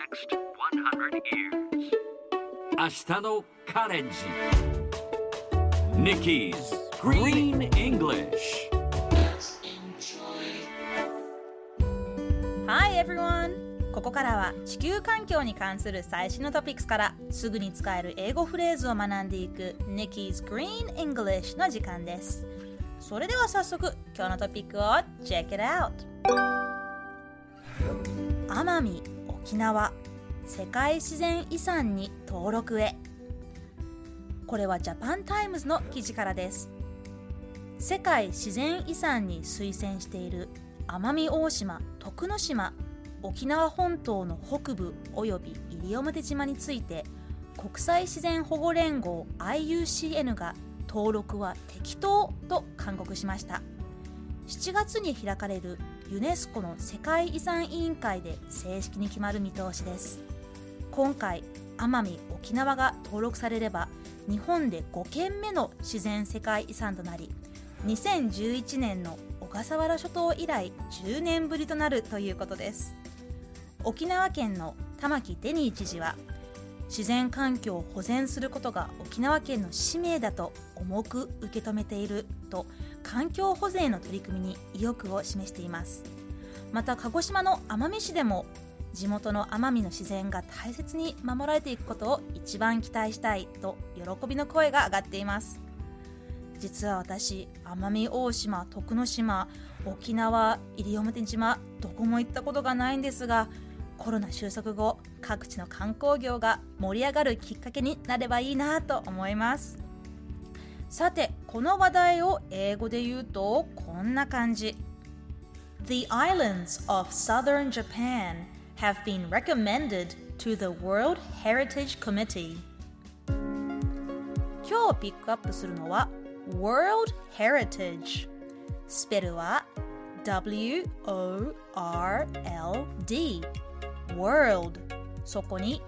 next 100 years. 明日のカレンジ Nikki's Green English. Hi everyone! ここからは地球環境に関する最新のトピックスからすぐに使える英語フレーズを学んでいく Nikki's Green English の時間です。それでは早速今日のトピックを Check it out! 奄美・沖縄世界自然遺産に登録へ。これはジャパンタイムズの記事からです。世界自然遺産に推薦している奄美大島、徳之島、沖縄本島の北部および西表島について国際自然保護連合 IUCN が登録は適当と勧告しました。7月に開かれるユネスコの世界遺産委員会で正式に決まる見通しです。今回奄美・沖縄が登録されれば日本で5件目の自然世界遺産となり、2011年の小笠原諸島以来10年ぶりとなるということです。沖縄県の玉城デニー知事は、自然環境を保全することが沖縄県の使命だと重く受け止めていると環境保全への取り組みに意欲を示しています。また鹿児島の奄美市でも地元の奄美の自然が大切に守られていくことを一番期待したいと喜びの声が上がっています。実は私、奄美大島、徳之島、沖縄、西表島、どこも行ったことがないんですが、コロナ収束後、各地の観光業が盛り上がるきっかけになればいいなと思います。さて、この話題を英語で言うとこんな感じ。The islands of southern Japan have been recommended to the World Heritage Committee. 今日ピックアップするのは World Heritage。スペルは W-O-R-L-D World。そこに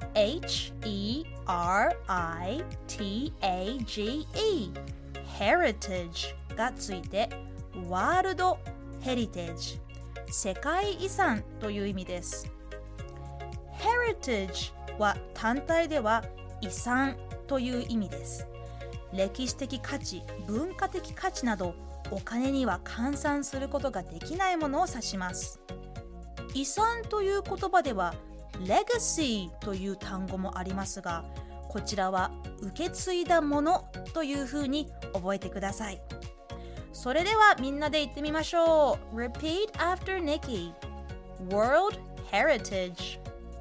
H-E-R-I-T-A-G-E Heritage がついてワールドヘリテージ、世界遺産という意味です。Heritage は単体では遺産という意味です。歴史的価値、文化的価値などお金には換算することができないものを指します。遺産という言葉では Legacy という単語もありますが、こちらは受け継いだものというふうに覚えてください。それではみんなで言ってみましょう。 Repeat after Nikki. World Heritage。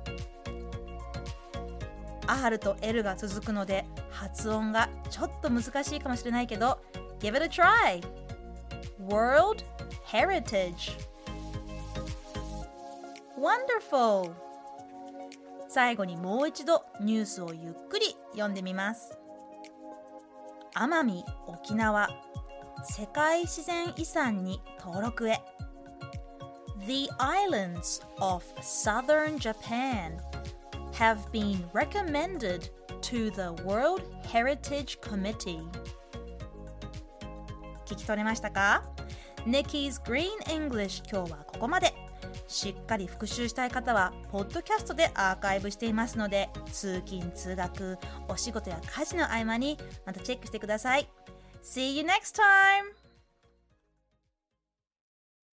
R と L が続くので発音がちょっと難しいかもしれないけど Give it a try. World Heritage。 Wonderful。 最後にもう一度ニュースをゆっくり読んでみます。奄美・沖縄世界自然遺産に登録へ。 The islands of southern Japan have been recommended to the World Heritage Committee。 聞き取れましたか？ Nikki's Green English 今日はここまで。しっかり復習したい方はポッドキャストでアーカイブしていますので、通勤通学、お仕事や家事の合間にまたチェックしてください。See you next time!